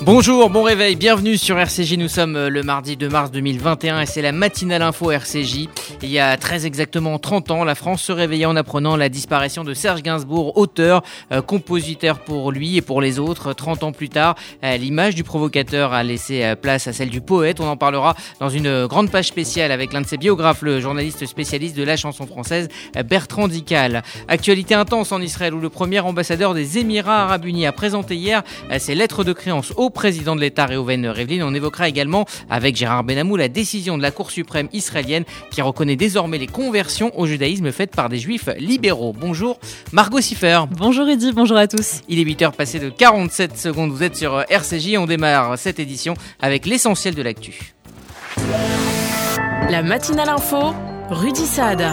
Bonjour, bon réveil, bienvenue sur RCJ, nous sommes le mardi 2 mars 2021 et c'est la matinale info RCJ. Il y a très exactement 30 ans, la France se réveillait en apprenant la disparition de Serge Gainsbourg, auteur, compositeur pour lui et pour les autres. 30 ans plus tard, l'image du provocateur a laissé place à celle du poète. On en parlera dans une grande page spéciale avec l'un de ses biographes, le journaliste spécialiste de la chanson française, Bertrand Dical. Actualité intense en Israël où le premier ambassadeur des Émirats Arabes Unis a présenté hier ses lettres de créance au président de l'État Reuven Rivlin. On évoquera également avec Gérard Benamou la décision de la Cour suprême israélienne qui reconnaît désormais les conversions au judaïsme faites par des juifs libéraux. Bonjour Margot Siffer. Bonjour Eddy, bonjour à tous. Il est 8h passé de 47 secondes, vous êtes sur RCJ, on démarre cette édition avec l'essentiel de l'actu. La matinale info, Rudy Saad.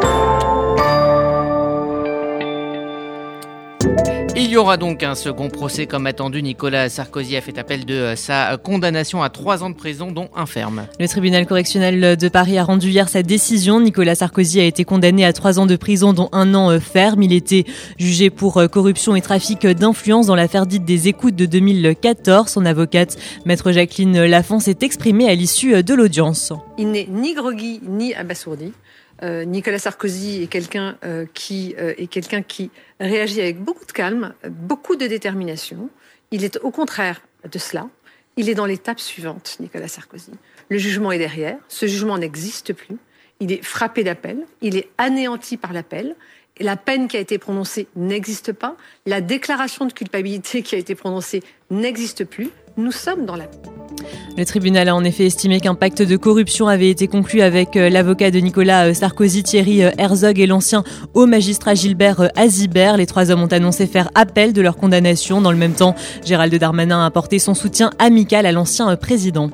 Il y aura donc un second procès comme attendu. Nicolas Sarkozy a fait appel de sa condamnation à 3 ans de prison, dont un ferme. Le tribunal correctionnel de Paris a rendu hier sa décision. Nicolas Sarkozy a été condamné à 3 ans de prison, dont 1 an ferme. Il était jugé pour corruption et trafic d'influence dans l'affaire dite des écoutes de 2014. Son avocate, maître Jacqueline Lafont, s'est exprimée à l'issue de l'audience. Il n'est ni groggy ni abasourdi. Nicolas Sarkozy est quelqu'un qui réagit avec beaucoup de calme, beaucoup de détermination. Il est au contraire de cela. Il est dans l'étape suivante, Nicolas Sarkozy. Le jugement est derrière. Ce jugement n'existe plus. Il est frappé d'appel. Il est anéanti par l'appel. La peine qui a été prononcée n'existe pas. La déclaration de culpabilité qui a été prononcée n'existe plus. Nous sommes dans la paix. Le tribunal a en effet estimé qu'un pacte de corruption avait été conclu avec l'avocat de Nicolas Sarkozy, Thierry Herzog, et l'ancien haut magistrat Gilbert Azibert. Les 3 hommes ont annoncé faire appel de leur condamnation. Dans le même temps, Gérald Darmanin a apporté son soutien amical à l'ancien président.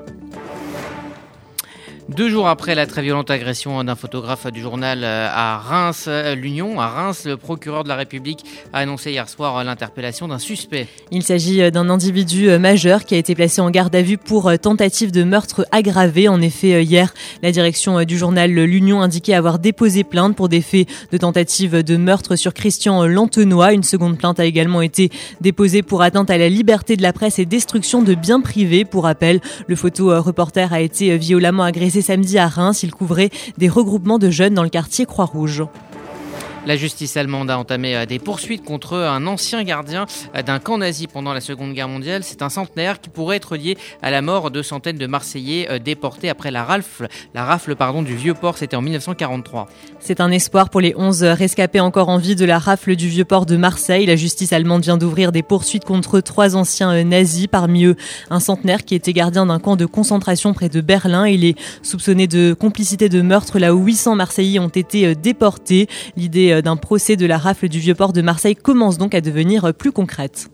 2 jours après la très violente agression d'un photographe du journal à Reims, l'Union, à Reims, le procureur de la République a annoncé hier soir l'interpellation d'un suspect. Il s'agit d'un individu majeur qui a été placé en garde à vue pour tentative de meurtre aggravé. En effet, hier, la direction du journal L'Union indiquait avoir déposé plainte pour des faits de tentative de meurtre sur Christian Lantenois. Une seconde plainte a également été déposée pour atteinte à la liberté de la presse et destruction de biens privés. Pour rappel, le photo-reporter a été violemment agressé samedi à Reims. Il couvrait des regroupements de jeunes dans le quartier Croix-Rouge. La justice allemande a entamé des poursuites contre un ancien gardien d'un camp nazi pendant la Seconde Guerre mondiale. C'est un centenaire qui pourrait être lié à la mort de centaines de Marseillais déportés après la rafle du Vieux-Port. C'était en 1943. C'est un espoir pour les 11 rescapés encore en vie de la rafle du Vieux-Port de Marseille. La justice allemande vient d'ouvrir des poursuites contre 3 anciens nazis. Parmi eux, un centenaire qui était gardien d'un camp de concentration près de Berlin. Il est soupçonné de complicité de meurtre là où 800 Marseillais ont été déportés. L'idée d'un procès de la rafle du Vieux-Port de Marseille commence donc à devenir plus concrète.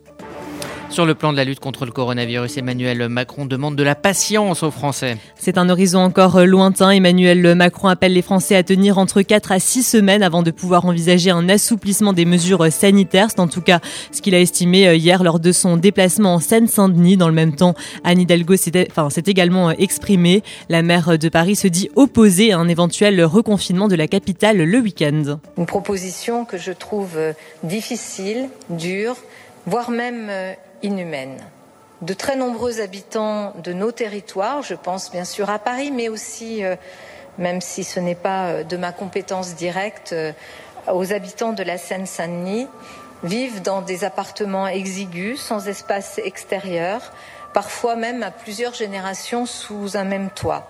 Sur le plan de la lutte contre le coronavirus, Emmanuel Macron demande de la patience aux Français. C'est un horizon encore lointain. Emmanuel Macron appelle les Français à tenir entre 4 à 6 semaines avant de pouvoir envisager un assouplissement des mesures sanitaires. C'est en tout cas ce qu'il a estimé hier lors de son déplacement en Seine-Saint-Denis. Dans le même temps, Anne Hidalgo s'est également exprimée. La maire de Paris se dit opposée à un éventuel reconfinement de la capitale le week-end. Une proposition que je trouve difficile, dure, voire même inhumaine. De très nombreux habitants de nos territoires, je pense bien sûr à Paris, mais aussi, même si ce n'est pas de ma compétence directe, aux habitants de la Seine-Saint-Denis, vivent dans des appartements exigus, sans espace extérieur, parfois même à plusieurs générations sous un même toit.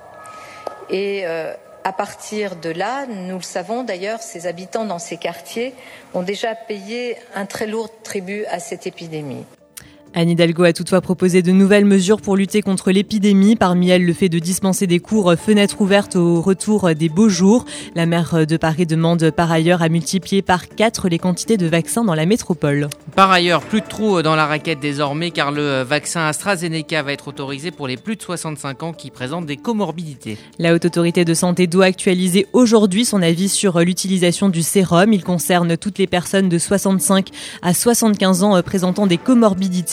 Et à partir de là, nous le savons d'ailleurs, ces habitants dans ces quartiers ont déjà payé un très lourd tribut à cette épidémie. Anne Hidalgo a toutefois proposé de nouvelles mesures pour lutter contre l'épidémie. Parmi elles, le fait de dispenser des cours fenêtres ouvertes au retour des beaux jours. La maire de Paris demande par ailleurs à multiplier par 4 les quantités de vaccins dans la métropole. Par ailleurs, plus de trous dans la raquette désormais car le vaccin AstraZeneca va être autorisé pour les plus de 65 ans qui présentent des comorbidités. La Haute Autorité de Santé doit actualiser aujourd'hui son avis sur l'utilisation du sérum. Il concerne toutes les personnes de 65 à 75 ans présentant des comorbidités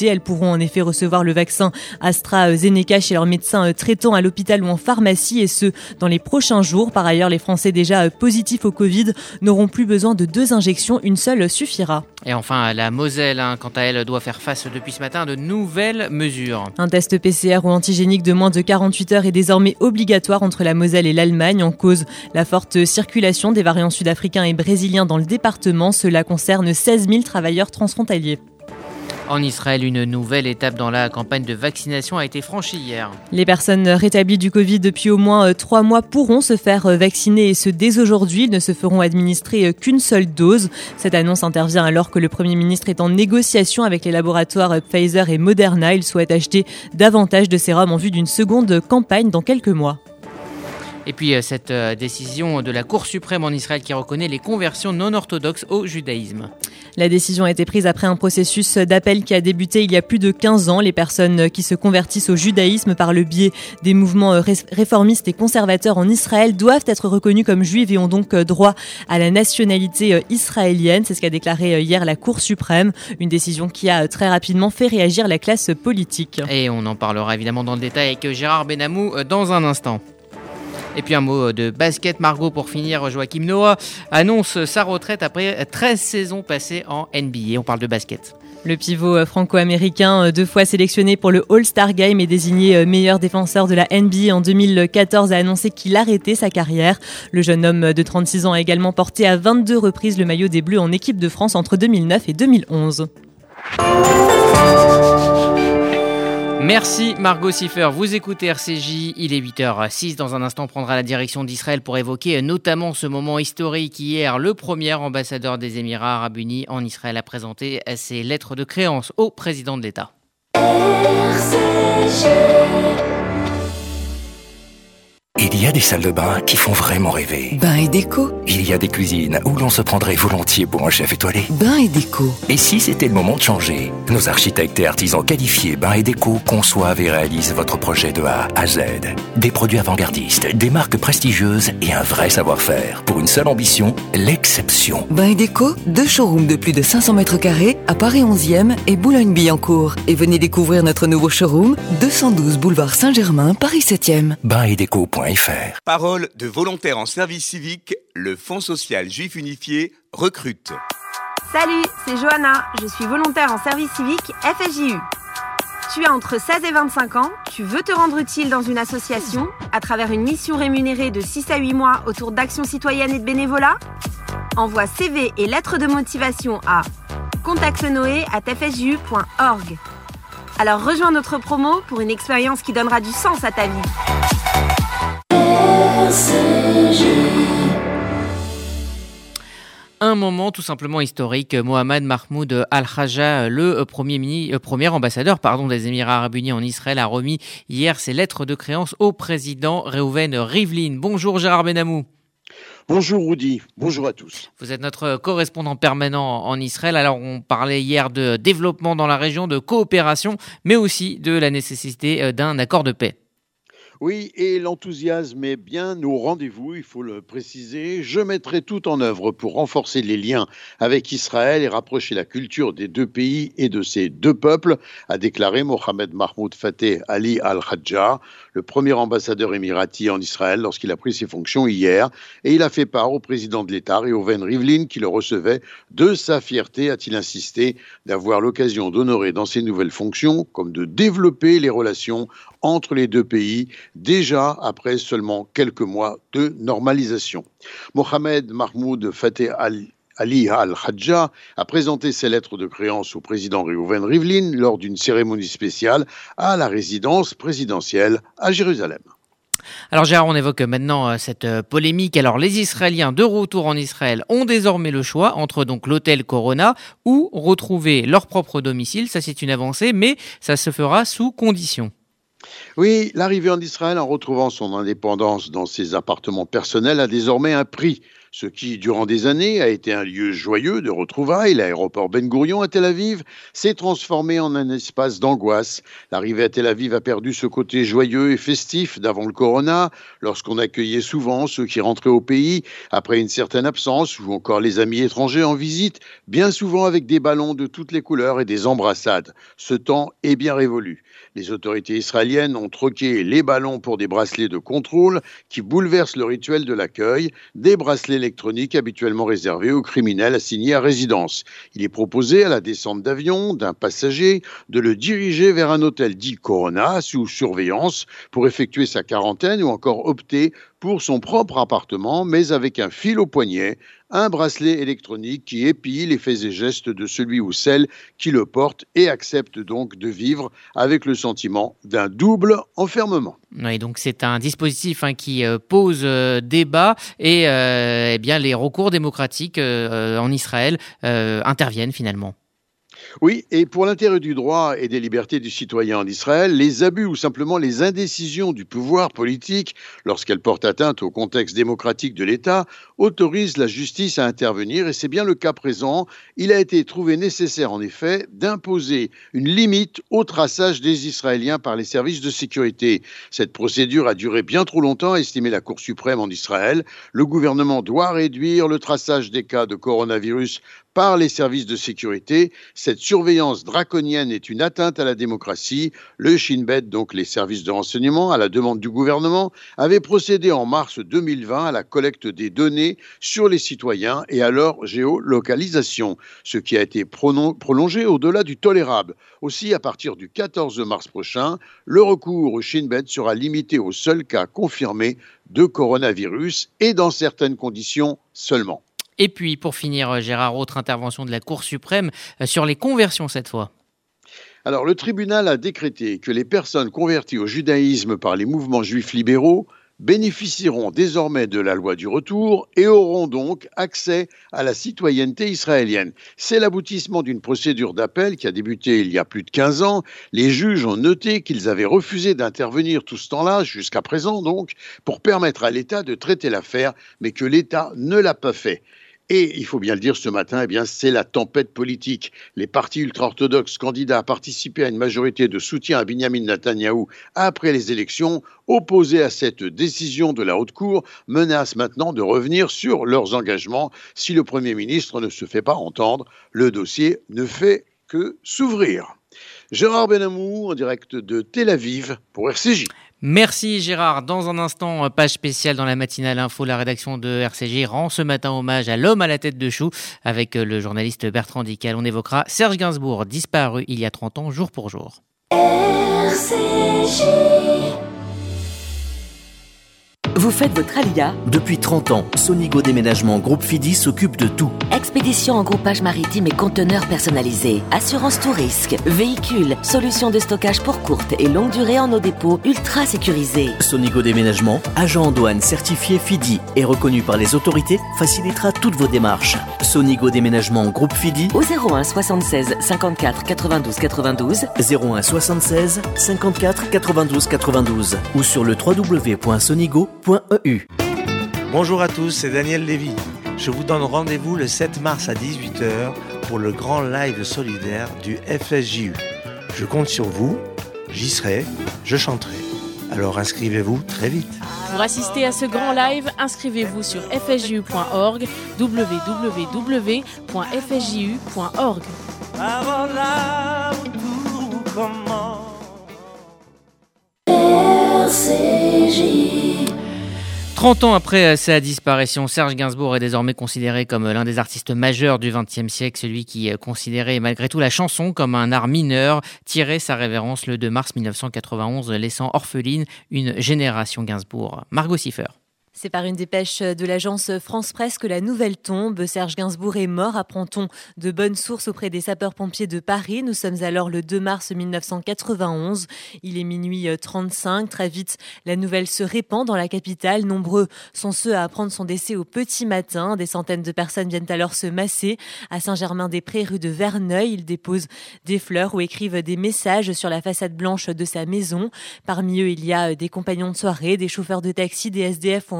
Elles pourront en effet recevoir le vaccin AstraZeneca chez leur médecin traitant à l'hôpital ou en pharmacie, et ce, dans les prochains jours. Par ailleurs, les Français déjà positifs au Covid n'auront plus besoin de 2 injections, une seule suffira. Et enfin, la Moselle, quant à elle, doit faire face depuis ce matin à de nouvelles mesures. Un test PCR ou antigénique de moins de 48 heures est désormais obligatoire entre la Moselle et l'Allemagne. En cause, la forte circulation des variants sud-africains et brésiliens dans le département. Cela concerne 16 000 travailleurs transfrontaliers. En Israël, une nouvelle étape dans la campagne de vaccination a été franchie hier. Les personnes rétablies du Covid depuis au moins 3 mois pourront se faire vacciner, et ce dès aujourd'hui. Ils ne se feront administrer qu'une seule dose. Cette annonce intervient alors que le Premier ministre est en négociation avec les laboratoires Pfizer et Moderna. Il souhaite acheter davantage de sérums en vue d'une seconde campagne dans quelques mois. Et puis cette décision de la Cour suprême en Israël qui reconnaît les conversions non orthodoxes au judaïsme. La décision a été prise après un processus d'appel qui a débuté il y a plus de 15 ans. Les personnes qui se convertissent au judaïsme par le biais des mouvements réformistes et conservateurs en Israël doivent être reconnues comme juives et ont donc droit à la nationalité israélienne. C'est ce qu'a déclaré hier la Cour suprême. Une décision qui a très rapidement fait réagir la classe politique. Et on en parlera évidemment dans le détail avec Gérard Benamou dans un instant. Et puis un mot de basket, Margot, pour finir. Joachim Noah annonce sa retraite après 13 saisons passées en NBA. On parle de basket. Le pivot franco-américain, 2 fois sélectionné pour le All-Star Game et désigné meilleur défenseur de la NBA en 2014, a annoncé qu'il arrêtait sa carrière. Le jeune homme de 36 ans a également porté à 22 reprises le maillot des Bleus en équipe de France entre 2009 et 2011. Merci Margot Siffer, vous écoutez RCJ, il est 8h06. Dans un instant, on prendra la direction d'Israël pour évoquer notamment ce moment historique. Hier, le premier ambassadeur des Émirats Arabes Unis en Israël a présenté ses lettres de créance au président de l'État. RCJ. Il y a des salles de bain qui font vraiment rêver. Bain et déco. Il y a des cuisines où l'on se prendrait volontiers pour un chef étoilé. Bain et déco. Et si c'était le moment de changer? Nos architectes et artisans qualifiés Bain et déco conçoivent et réalisent votre projet de A à Z. Des produits avant-gardistes, des marques prestigieuses et un vrai savoir-faire. Pour une seule ambition, l'exception. Bain et déco, 2 showrooms de plus de 500 mètres carrés à Paris 11e et Boulogne-Billancourt. Et venez découvrir notre nouveau showroom, 212 boulevard Saint-Germain, Paris 7e. Bainetdeco.fr. Parole de volontaires en service civique, le Fonds social juif unifié recrute. Salut, c'est Johanna, je suis volontaire en service civique FSJU. Tu as entre 16 et 25 ans, tu veux te rendre utile dans une association à travers une mission rémunérée de 6 à 8 mois autour d'actions citoyennes et de bénévolat? Envoie CV et lettres de motivation à contactenoé@fsju.org. Alors rejoins notre promo pour une expérience qui donnera du sens à ta vie. Un moment tout simplement historique. Mohamed Mahmoud Al-Khaja, le premier ambassadeur des Émirats Arabes Unis en Israël, a remis hier ses lettres de créance au président Reuven Rivlin. Bonjour Gérard Benamou. Bonjour Rudy, bonjour à tous. Vous êtes notre correspondant permanent en Israël. Alors on parlait hier de développement dans la région, de coopération, mais aussi de la nécessité d'un accord de paix. Oui, et l'enthousiasme est bien au rendez-vous, il faut le préciser. Je mettrai tout en œuvre pour renforcer les liens avec Israël et rapprocher la culture des 2 pays et de ces 2 peuples, a déclaré Mohamed Mahmoud Fateh Ali Al-Khaja, le premier ambassadeur émirati en Israël lorsqu'il a pris ses fonctions hier. Et il a fait part au président de l'État, Reuven Rivlin, qui le recevait, de sa fierté, a-t-il insisté, d'avoir l'occasion d'honorer dans ses nouvelles fonctions, comme de développer les relations entre les 2 pays, déjà après seulement quelques mois de normalisation. Mohamed Mahmoud Fateh Ali Al-Khaja a présenté ses lettres de créance au président Reuven Rivlin lors d'une cérémonie spéciale à la résidence présidentielle à Jérusalem. Alors Gérard, on évoque maintenant cette polémique. Alors les Israéliens de retour en Israël ont désormais le choix entre donc l'hôtel Corona ou retrouver leur propre domicile. Ça c'est une avancée, mais ça se fera sous conditions. Oui, l'arrivée en Israël en retrouvant son indépendance dans ses appartements personnels a désormais un prix. Ce qui, durant des années, a été un lieu joyeux de retrouvailles, l'aéroport Ben Gourion à Tel Aviv, s'est transformé en un espace d'angoisse. L'arrivée à Tel Aviv a perdu ce côté joyeux et festif d'avant le corona, lorsqu'on accueillait souvent ceux qui rentraient au pays après une certaine absence, ou encore les amis étrangers en visite, bien souvent avec des ballons de toutes les couleurs et des embrassades. Ce temps est bien révolu. Les autorités israéliennes ont troqué les ballons pour des bracelets de contrôle qui bouleversent le rituel de l'accueil, des bracelets électroniques habituellement réservés aux criminels assignés à résidence. Il est proposé à la descente d'avion d'un passager de le diriger vers un hôtel dit Corona sous surveillance pour effectuer sa quarantaine ou encore opter pour son propre appartement, mais avec un fil au poignet, un bracelet électronique qui épie les faits et gestes de celui ou celle qui le porte et accepte donc de vivre avec le sentiment d'un double enfermement. Oui, donc c'est un dispositif qui pose débat et eh bien les recours démocratiques en Israël interviennent finalement. Oui, et pour l'intérêt du droit et des libertés du citoyen en Israël, les abus ou simplement les indécisions du pouvoir politique, lorsqu'elles portent atteinte au contexte démocratique de l'État, autorisent la justice à intervenir, et c'est bien le cas présent. Il a été trouvé nécessaire, en effet, d'imposer une limite au traçage des Israéliens par les services de sécurité. Cette procédure a duré bien trop longtemps, a estimé la Cour suprême en Israël. Le gouvernement doit réduire le traçage des cas de coronavirus par les services de sécurité. Cette surveillance draconienne est une atteinte à la démocratie. Le Shin Bet, donc les services de renseignement, à la demande du gouvernement, avait procédé en mars 2020 à la collecte des données sur les citoyens et à leur géolocalisation, ce qui a été prolongé au-delà du tolérable. Aussi, à partir du 14 mars prochain, le recours au Shin Bet sera limité aux seuls cas confirmés de coronavirus et dans certaines conditions seulement. Et puis, pour finir, Gérard, autre intervention de la Cour suprême sur les conversions cette fois. Alors, le tribunal a décrété que les personnes converties au judaïsme par les mouvements juifs libéraux bénéficieront désormais de la loi du retour et auront donc accès à la citoyenneté israélienne. C'est l'aboutissement d'une procédure d'appel qui a débuté il y a plus de 15 ans. Les juges ont noté qu'ils avaient refusé d'intervenir tout ce temps-là, jusqu'à présent donc, pour permettre à l'État de traiter l'affaire, mais que l'État ne l'a pas fait. Et il faut bien le dire ce matin, c'est la tempête politique. Les partis ultra-orthodoxes candidats à participer à une majorité de soutien à Binyamin Netanyahou après les élections, opposés à cette décision de la Haute Cour, menacent maintenant de revenir sur leurs engagements. Si le Premier ministre ne se fait pas entendre, le dossier ne fait que s'ouvrir. Gérard Benamou, en direct de Tel Aviv pour RCJ. Merci Gérard. Dans un instant, page spéciale dans la matinale info, la rédaction de RCJ rend ce matin hommage à l'homme à la tête de chou avec le journaliste Bertrand Dical. On évoquera Serge Gainsbourg, disparu il y a 30 ans, jour pour jour. RCJ. Vous faites votre alia? Depuis 30 ans, Sonigo Déménagement Groupe Fidi s'occupe de tout. Expédition en groupage maritime et conteneurs personnalisés, assurance tout risque, véhicules, solutions de stockage pour courte et longue durée en eau dépôt ultra sécurisés. Sonigo Déménagement, agent en douane certifié Fidi et reconnu par les autorités, facilitera toutes vos démarches. Sonigo Déménagement Groupe Fidi au 01 76 54 92 92 01 76 54 92 92 ou sur le www.sonigo.eu. Bonjour à tous, c'est Daniel Lévy. Je vous donne rendez-vous le 7 mars à 18h pour le grand live solidaire du FSJU. Je compte sur vous, j'y serai, je chanterai. Alors inscrivez-vous très vite. Pour assister à ce grand live, inscrivez-vous sur fsju.org, www.fsju.org. Avant là où tout commence. RCJ. 30 ans après sa disparition, Serge Gainsbourg est désormais considéré comme l'un des artistes majeurs du XXe siècle, celui qui considérait malgré tout la chanson comme un art mineur, tirait sa révérence le 2 mars 1991, laissant orpheline une génération Gainsbourg. Margot Siffer. C'est par une dépêche de l'agence France Presse que la nouvelle tombe. Serge Gainsbourg est mort, apprend-on de bonnes sources auprès des sapeurs-pompiers de Paris. Nous sommes alors le 2 mars 1991. Il est minuit 35. Très vite, la nouvelle se répand dans la capitale. Nombreux sont ceux à apprendre son décès au petit matin. Des centaines de personnes viennent alors se masser à Saint-Germain-des-Prés, rue de Verneuil. Ils déposent des fleurs ou écrivent des messages sur la façade blanche de sa maison. Parmi eux, il y a des compagnons de soirée, des chauffeurs de taxi, des SDF ou encore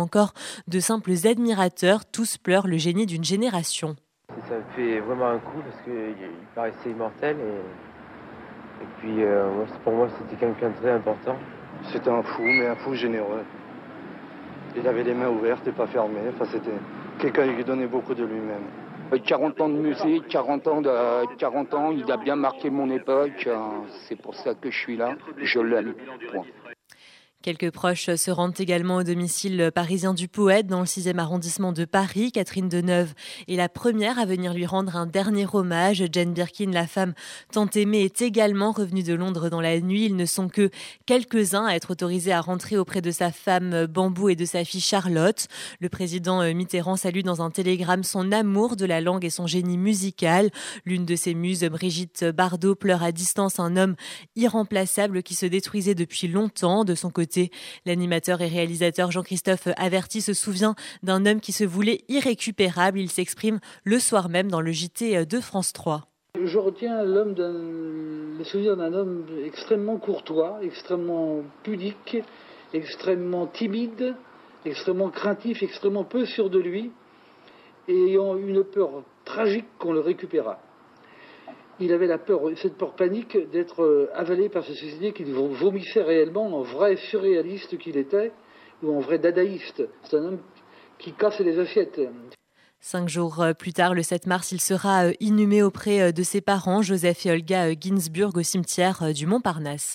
encore de simples admirateurs. Tous pleurent le génie d'une génération. Ça me fait vraiment un coup parce qu'il paraissait immortel et puis pour moi c'était quelqu'un de très important. C'était un fou, mais un fou généreux. Il avait les mains ouvertes et pas fermées. Enfin, c'était quelqu'un qui donnait beaucoup de lui-même. 40 ans de musique, 40 ans, il a bien marqué mon époque. C'est pour ça que je suis là. Je l'aime. Point. Quelques proches se rendent également au domicile parisien du poète dans le 6e arrondissement de Paris. Catherine Deneuve est la première à venir lui rendre un dernier hommage. Jane Birkin, la femme tant aimée, est également revenue de Londres dans la nuit. Ils ne sont que quelques-uns à être autorisés à rentrer auprès de sa femme Bambou et de sa fille Charlotte. Le président Mitterrand salue dans un télégramme son amour de la langue et son génie musical. L'une de ses muses, Brigitte Bardot, pleure à distance un homme irremplaçable qui se détruisait depuis longtemps. De son côté, l'animateur et réalisateur Jean-Christophe Averty se souvient d'un homme qui se voulait irrécupérable. Il s'exprime le soir même dans le JT de France 3. Je retiens le souvenir d'un homme extrêmement courtois, extrêmement pudique, extrêmement timide, extrêmement craintif, extrêmement peu sûr de lui, et ayant une peur tragique qu'on le récupérât. Il avait cette peur panique d'être avalé par ce suicidier qu'il vomissait réellement en vrai surréaliste qu'il était, ou en vrai dadaïste. C'est un homme qui casse les assiettes. 5 jours plus tard, le 7 mars, il sera inhumé auprès de ses parents, Joseph et Olga Ginsburg, au cimetière du Montparnasse.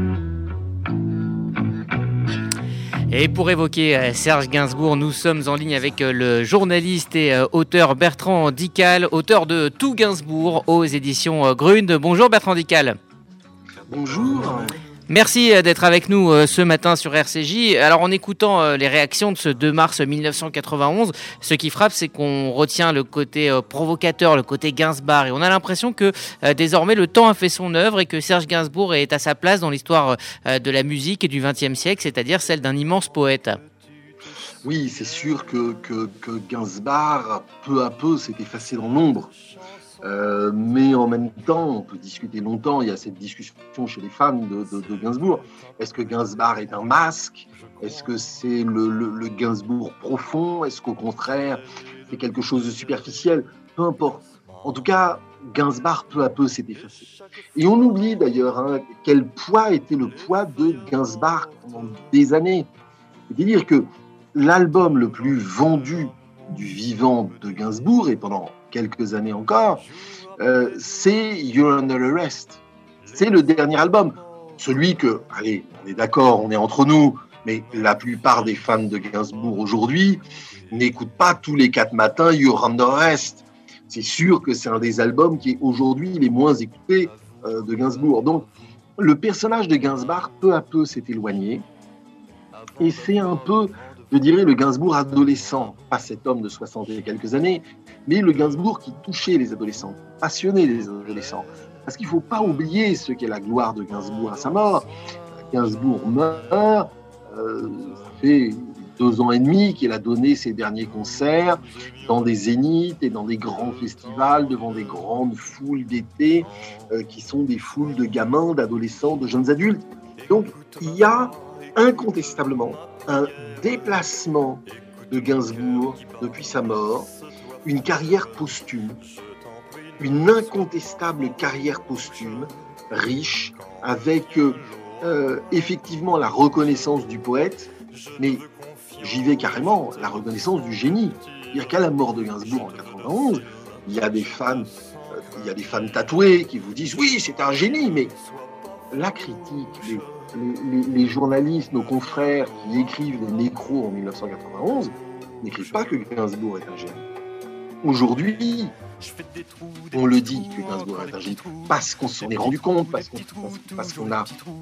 Et pour évoquer Serge Gainsbourg, nous sommes en ligne avec le journaliste et auteur Bertrand Dical, auteur de Tout Gainsbourg aux éditions Grund. Bonjour Bertrand Dical. Bonjour. Merci d'être avec nous ce matin sur RCJ. Alors en écoutant les réactions de ce 2 mars 1991, ce qui frappe, c'est qu'on retient le côté provocateur, le côté Gainsbar, et on a l'impression que désormais le temps a fait son œuvre et que Serge Gainsbourg est à sa place dans l'histoire de la musique et du XXe siècle, c'est-à-dire celle d'un immense poète. Oui, c'est sûr que Gainsbar, peu à peu, s'est effacé dans l'ombre. Mais en même temps, on peut discuter longtemps. Il y a cette discussion chez les fans de Gainsbourg. Est-ce que Gainsbar est un masque ? Est-ce que c'est le Gainsbourg profond ? Est-ce qu'au contraire, c'est quelque chose de superficiel ? Peu importe. En tout cas, Gainsbar, peu à peu, s'est effacé. Et on oublie d'ailleurs quel poids était le poids de Gainsbar pendant des années. C'est-à-dire que l'album le plus vendu du vivant de Gainsbourg, et pendant quelques années encore, c'est You're Under Arrest. C'est le dernier album. Celui que, allez, on est d'accord, on est entre nous, mais la plupart des fans de Gainsbourg aujourd'hui n'écoutent pas tous les 4 matins You're Under Arrest. C'est sûr que c'est un des albums qui est aujourd'hui les moins écoutés de Gainsbourg. Donc, le personnage de Gainsbourg, peu à peu, s'est éloigné. Et c'est un peu, je dirais, le Gainsbourg adolescent, pas cet homme de 60 et quelques années, mais le Gainsbourg qui touchait les adolescents, passionnait les adolescents. Parce qu'il ne faut pas oublier ce qu'est la gloire de Gainsbourg à sa mort. Gainsbourg meurt, ça fait 2 ans et demi qu'il a donné ses derniers concerts dans des zéniths et dans des grands festivals, devant des grandes foules d'été, qui sont des foules de gamins, d'adolescents, de jeunes adultes. Donc, il y a incontestablement un déplacement de Gainsbourg depuis sa mort, une carrière posthume, une incontestable carrière posthume, riche, avec effectivement la reconnaissance du poète, mais j'y vais carrément, la reconnaissance du génie. C'est-à-dire qu'à la mort de Gainsbourg en 91, il y a des fans tatoués qui vous disent « Oui, c'est un génie », mais la critique, les journalistes, nos confrères qui écrivent les nécros en 1991 n'écrivent pas que Gainsbourg est un génie. Aujourd'hui, on le dit que Gainsbourg est un génie parce qu'on s'en est rendu compte, parce qu'on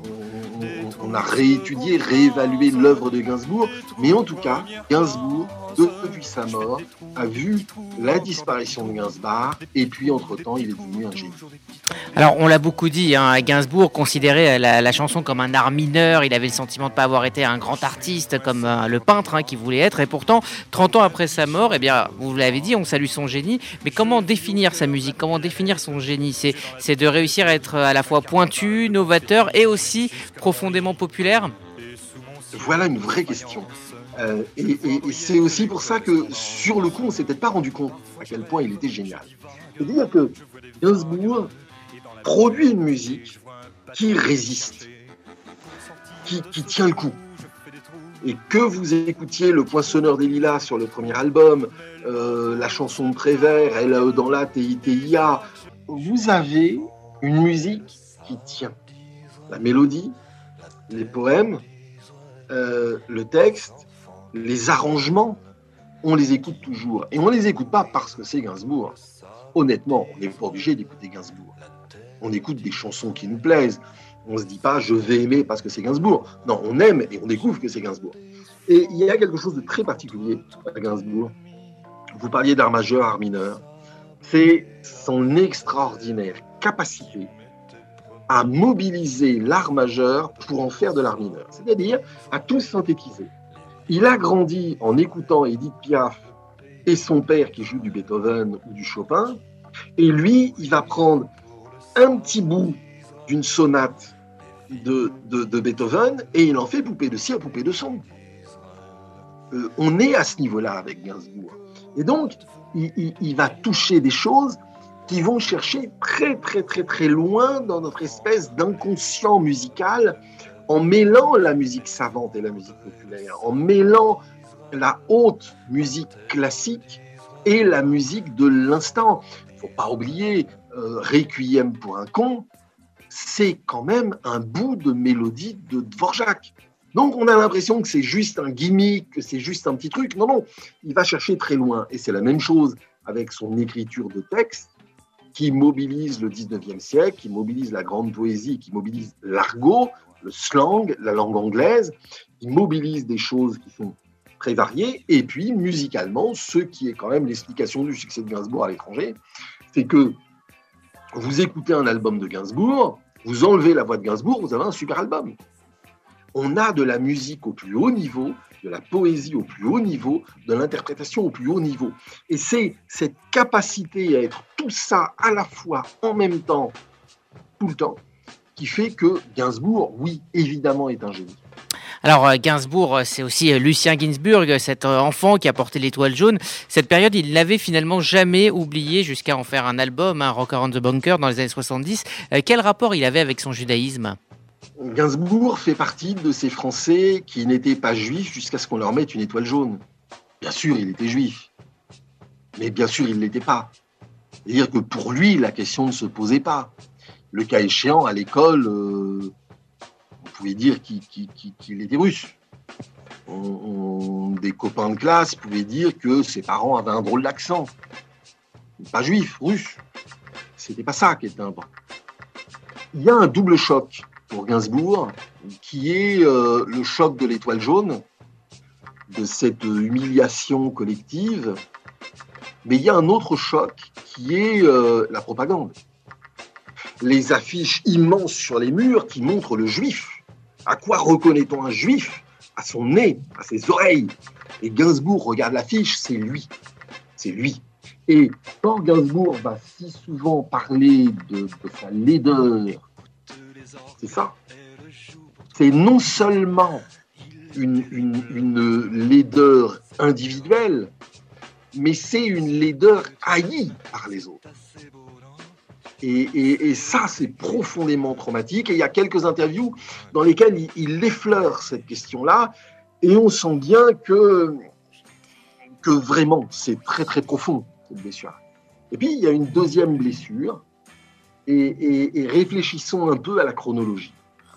a réétudié, réévalué l'œuvre de Gainsbourg, mais en tout cas, Gainsbourg, depuis sa mort, a vu la disparition de Gainsbourg, et puis entre-temps, il est devenu un génie. Alors, on l'a beaucoup dit, Gainsbourg considérait la chanson comme un art mineur, il avait le sentiment de ne pas avoir été un grand artiste comme le peintre qu'il voulait être, et pourtant, 30 ans après sa mort, eh bien, vous l'avez dit, on salue son génie, mais comment définir sa musique, comment définir son génie ? C'est de réussir à être à la fois pointu, novateur et aussi profondément populaire ? Voilà une vraie question. Et c'est aussi pour ça que, sur le coup, on ne s'est peut-être pas rendu compte à quel point il était génial. C'est-à-dire que Gainsbourg produit une musique qui résiste, qui tient le coup. Et que vous écoutiez Le Poinçonneur des Lilas sur le premier album, la chanson de Prévert, LAE dans la TITIA, vous avez une musique qui tient. La mélodie, les poèmes, le texte, les arrangements, on les écoute toujours. Et on ne les écoute pas parce que c'est Gainsbourg. Honnêtement, on n'est pas obligé d'écouter Gainsbourg. On écoute des chansons qui nous plaisent. On ne se dit pas « je vais aimer parce que c'est Gainsbourg ». Non, on aime et on découvre que c'est Gainsbourg. Et il y a quelque chose de très particulier à Gainsbourg. Vous parliez d'art majeur, art mineur. C'est son extraordinaire capacité à mobiliser l'art majeur pour en faire de l'art mineur. C'est-à-dire à tout synthétiser. Il a grandi en écoutant Édith Piaf et son père qui joue du Beethoven ou du Chopin. Et lui, il va prendre un petit bout d'une sonate de Beethoven et il en fait poupée de cire, poupée de son. On est à ce niveau-là avec Gainsbourg. Et donc, il va toucher des choses qui vont chercher très, très, très, très loin dans notre espèce d'inconscient musical en mêlant la musique savante et la musique populaire, en mêlant la haute musique classique et la musique de l'instant. Il ne faut pas oublier Requiem pour un con, c'est quand même un bout de mélodie de Dvorak. Donc on a l'impression que c'est juste un gimmick, que c'est juste un petit truc. Non, non, il va chercher très loin. Et c'est la même chose avec son écriture de texte qui mobilise le 19e siècle, qui mobilise la grande poésie, qui mobilise l'argot, le slang, la langue anglaise. Il mobilise des choses qui sont très variées. Et puis, musicalement, ce qui est quand même l'explication du succès de Gainsbourg à l'étranger, c'est que vous écoutez un album de Gainsbourg, vous enlevez la voix de Gainsbourg, vous avez un super album. On a de la musique au plus haut niveau, de la poésie au plus haut niveau, de l'interprétation au plus haut niveau. Et c'est cette capacité à être tout ça à la fois, en même temps, tout le temps, qui fait que Gainsbourg, oui, évidemment, est un génie. Alors Gainsbourg, c'est aussi Lucien Gainsbourg, cet enfant qui a porté l'étoile jaune. Cette période, il l'avait finalement jamais oublié jusqu'à en faire un album, Rock Around the Bunker, dans les années 70. Quel rapport il avait avec son judaïsme ? Gainsbourg fait partie de ces Français qui n'étaient pas juifs jusqu'à ce qu'on leur mette une étoile jaune. Bien sûr, il était juif, mais bien sûr, il ne l'était pas. C'est-à-dire que pour lui, la question ne se posait pas. Le cas échéant, à l'école, on pouvait dire qu'il était russe. Des copains de classe pouvaient dire que ses parents avaient un drôle d'accent. Pas juif, russe. C'était pas ça qui était important. Il y a un double choc pour Gainsbourg, qui est le choc de l'étoile jaune, de cette humiliation collective. Mais il y a un autre choc qui est la propagande. Les affiches immenses sur les murs qui montrent le juif. À quoi reconnaît-on un juif ? À son nez, à ses oreilles. Et Gainsbourg regarde l'affiche, c'est lui. C'est lui. Et quand Gainsbourg va si souvent parler de sa laideur, c'est ça. C'est non seulement une laideur individuelle, mais c'est une laideur haïe par les autres. Et ça, c'est profondément traumatique. Et il y a quelques interviews dans lesquelles il effleure cette question-là, et on sent bien que vraiment, c'est très très profond, cette blessure. Et puis, il y a une deuxième blessure, et réfléchissons un peu à la chronologie.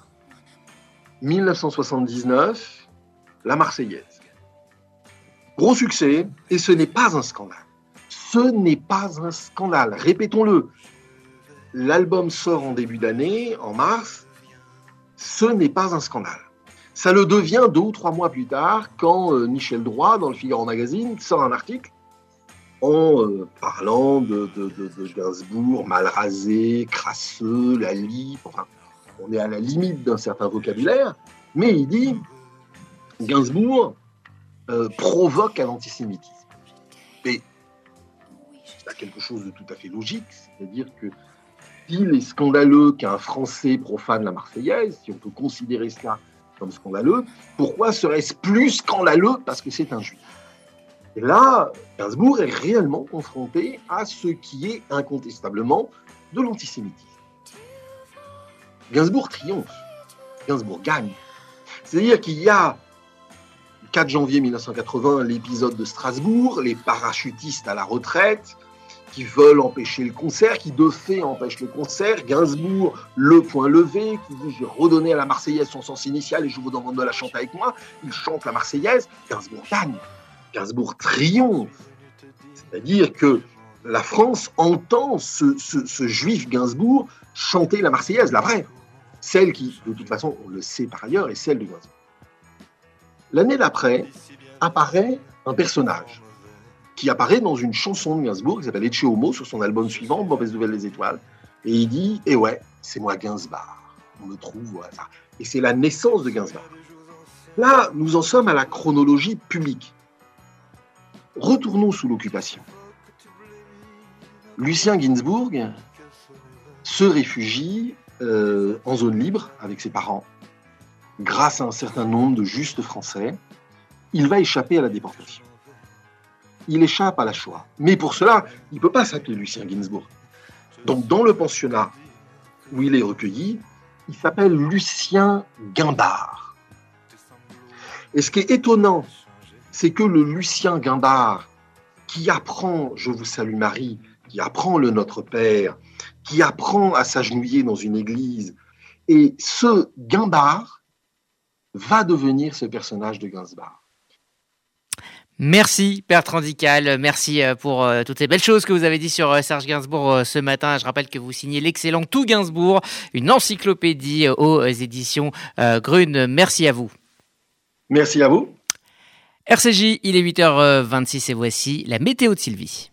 1979, la Marseillaise. Gros succès, et ce n'est pas un scandale. Ce n'est pas un scandale, répétons-le. L'album sort en début d'année, en mars, ce n'est pas un scandale. Ça le devient 2 ou 3 mois plus tard, quand Michel Droit, dans le Figaro Magazine, sort un article en parlant de Gainsbourg, mal rasé, crasseux, la lie, enfin, on est à la limite d'un certain vocabulaire, mais il dit Gainsbourg provoque à l'antisémitisme. Et c'est quelque chose de tout à fait logique, c'est-à-dire que s'il est scandaleux qu'un Français profane la Marseillaise, si on peut considérer cela comme scandaleux. Pourquoi serait-ce plus scandaleux? Parce que c'est un juif. Et là, Gainsbourg est réellement confronté à ce qui est incontestablement de l'antisémitisme. Gainsbourg triomphe, Gainsbourg gagne. C'est-à-dire qu'il y a, le 4 janvier 1980, l'épisode de Strasbourg, les parachutistes à la retraite, qui veulent empêcher le concert, qui de fait empêchent le concert. Gainsbourg, le poing levé, qui dit « J'ai redonné à la Marseillaise son sens initial et je vous demande de la chanter avec moi ». Il chante la Marseillaise, Gainsbourg gagne, Gainsbourg triomphe. C'est-à-dire que la France entend ce juif Gainsbourg chanter la Marseillaise, la vraie. Celle qui, de toute façon, on le sait par ailleurs, est celle de Gainsbourg. L'année d'après, apparaît un personnage qui apparaît dans une chanson de Gainsbourg qui s'appelle Ecce Homo sur son album suivant, Mauvaise nouvelle des étoiles. Et il dit « Eh ouais, c'est moi Gainsbourg. On me trouve au hasard. » Et c'est la naissance de Gainsbourg. Là, nous en sommes à la chronologie publique. Retournons sous l'occupation. Lucien Gainsbourg se réfugie en zone libre avec ses parents. Grâce à un certain nombre de justes Français, il va échapper à la déportation. Il échappe à la Shoah. Mais pour cela, il ne peut pas s'appeler Lucien Gainsbourg. Donc, dans le pensionnat où il est recueilli, il s'appelle Lucien Guimbard. Et ce qui est étonnant, c'est que le Lucien Guimbard, qui apprend « Je vous salue Marie », qui apprend le Notre Père, qui apprend à s'agenouiller dans une église, et ce Guimbard va devenir ce personnage de Gainsbourg. Merci Bertrand Dical, merci pour toutes ces belles choses que vous avez dit sur Serge Gainsbourg ce matin. Je rappelle que vous signez l'excellent Tout Gainsbourg, une encyclopédie aux éditions Grune. Merci à vous. Merci à vous. RCJ, il est 8h26 et voici la météo de Sylvie.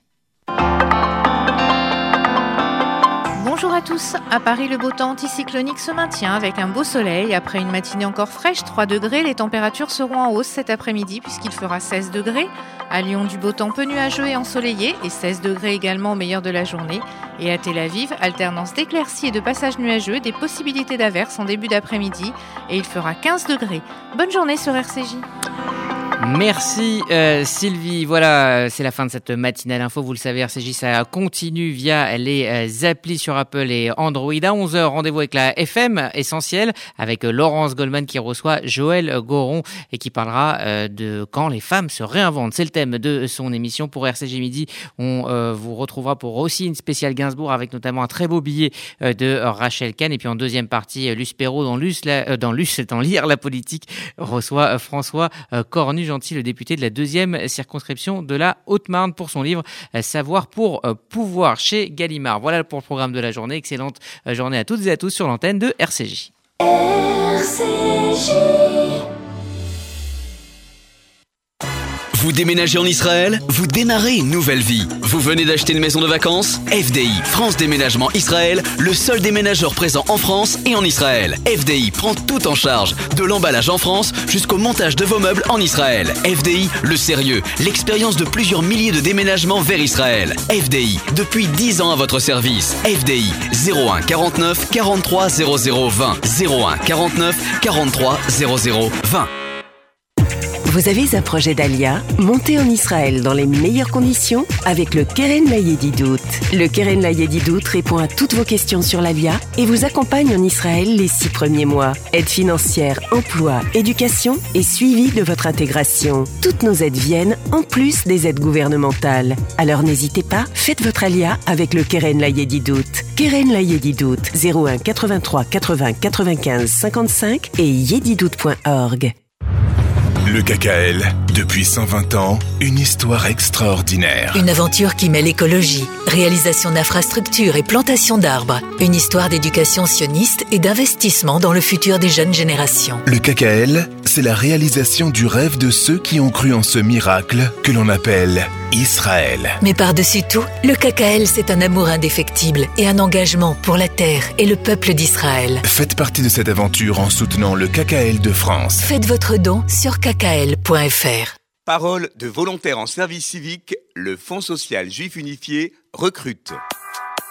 Bonjour à tous. À Paris, le beau temps anticyclonique se maintient avec un beau soleil. Après une matinée encore fraîche, 3 degrés, les températures seront en hausse cet après-midi puisqu'il fera 16 degrés. À Lyon, du beau temps peu nuageux et ensoleillé et 16 degrés également au meilleur de la journée. Et à Tel Aviv, alternance d'éclaircies et de passages nuageux, des possibilités d'averses en début d'après-midi et il fera 15 degrés. Bonne journée sur RCJ. Merci Sylvie. Voilà, c'est la fin de cette matinale info. Vous le savez, RCJ, ça continue via les applis sur Apple et Android. À 11h, rendez-vous avec la FM Essentielle, avec Laurence Goldman qui reçoit Joël Goron et qui parlera de quand les femmes se réinventent. C'est le thème de son émission. Pour RCJ Midi, on vous retrouvera pour aussi une spéciale Gainsbourg avec notamment un très beau billet de Rachel Kahn. Et puis en deuxième partie, Luce Perrault dans Lire la politique reçoit François Cornu-Gentil, le député de la 2e circonscription de la Haute-Marne, pour son livre Savoir pour pouvoir chez Gallimard. Voilà pour le programme de la journée. Excellente journée à toutes et à tous sur l'antenne de RCJ. Vous déménagez en Israël? Vous démarrez une nouvelle vie. Vous venez d'acheter une maison de vacances? FDI, France Déménagement Israël, le seul déménageur présent en France et en Israël. FDI prend tout en charge, de l'emballage en France jusqu'au montage de vos meubles en Israël. FDI, le sérieux, l'expérience de plusieurs milliers de déménagements vers Israël. FDI, depuis 10 ans à votre service. FDI, 01 49 43 00 20. 01 49 43 00 20. Vous avez un projet d'Alia? Montez en Israël dans les meilleures conditions avec le Keren Layedidout. Le Keren Layedidout répond à toutes vos questions sur l'Alia et vous accompagne en Israël les 6 premiers mois. Aide financière, emploi, éducation et suivi de votre intégration. Toutes nos aides viennent en plus des aides gouvernementales. Alors n'hésitez pas, faites votre Alia avec le Keren Layedidout. Keren Layedidout, 01 83 80 95 55 et yedidout.org. Le KKL, depuis 120 ans, une histoire extraordinaire. Une aventure qui mêle écologie, réalisation d'infrastructures et plantation d'arbres. Une histoire d'éducation sioniste et d'investissement dans le futur des jeunes générations. Le KKL, c'est la réalisation du rêve de ceux qui ont cru en ce miracle que l'on appelle Israël. Mais par-dessus tout, le KKL, c'est un amour indéfectible et un engagement pour la terre et le peuple d'Israël. Faites partie de cette aventure en soutenant le KKL de France. Faites votre don sur kkl.fr. Parole de volontaires en service civique, le Fonds social juif unifié recrute.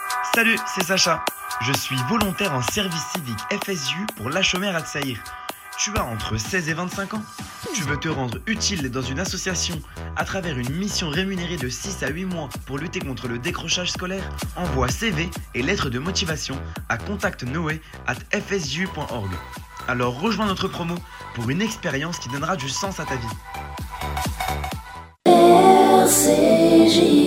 Salut, c'est Sacha. Je suis volontaire en service civique FSJU pour l'Hachomer Hatzaïr. Tu as entre 16 et 25 ans. Tu veux te rendre utile dans une association à travers une mission rémunérée de 6 à 8 mois pour lutter contre le décrochage scolaire? Envoie CV et lettres de motivation à contactnoé@fsju.org. Alors rejoins notre promo pour une expérience qui donnera du sens à ta vie. RCJ.